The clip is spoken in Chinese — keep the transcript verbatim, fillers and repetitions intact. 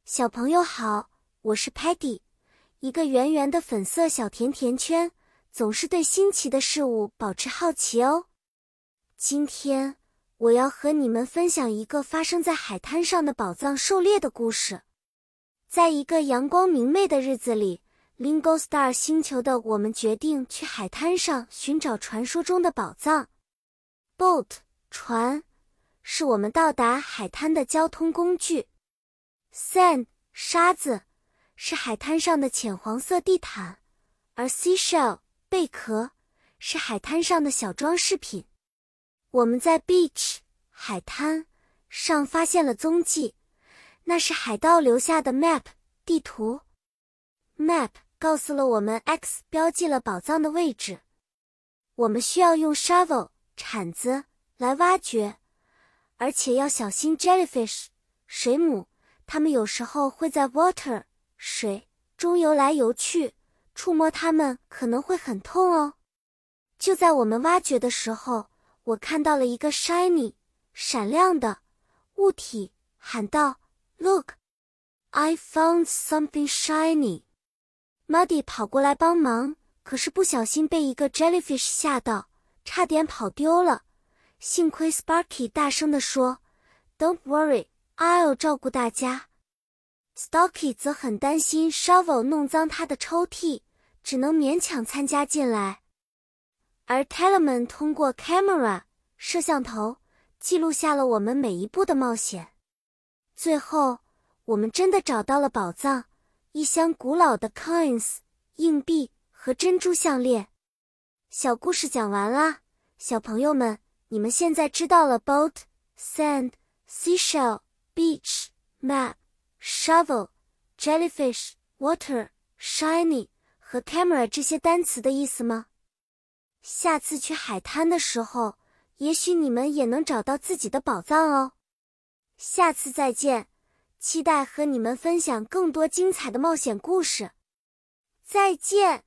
小朋友好，我是 Patty， 一个圆圆的粉色小甜甜圈，总是对新奇的事物保持好奇哦。今天我要和你们分享一个发生在海滩上的宝藏狩猎的故事。在一个阳光明媚的日子里， Lingo Star 星球的我们决定去海滩上寻找传说中的宝藏。Boat 船是我们到达海滩的交通工具。Sand 沙子是海滩上的浅黄色地毯，而 Seashell 贝壳是海滩上的小装饰品。我们在 beach 海滩上发现了踪迹，那是海盗留下的 map 地图。Map 告诉了我们 X 标记了宝藏的位置。我们需要用 shovel 铲子来挖掘，而且要小心 jellyfish 水母，它们有时候会在 water 水中游来游去，触摸它们可能会很痛哦。就在我们挖掘的时候，我看到了一个 shiny 闪亮的物体，喊道 Look, I found something shiny。 Muddy 跑过来帮忙，可是不小心被一个 jellyfish 吓到，差点跑丢了。幸亏 Sparky 大声地说 Don't worry, I'll 照顾大家。 Stocky 则很担心 Shovel 弄脏他的抽屉，只能勉强参加进来。而 Telemann 通过 camera 摄像头记录下了我们每一步的冒险。最后我们真的找到了宝藏，一箱古老的 coins 硬币和珍珠项链。小故事讲完啦，小朋友们，你们现在知道了 boat, sand, seashell, beach, map, shovel, jellyfish, water, shiny 和 camera 这些单词的意思吗？下次去海滩的时候，也许你们也能找到自己的宝藏哦。下次再见，期待和你们分享更多精彩的冒险故事。再见。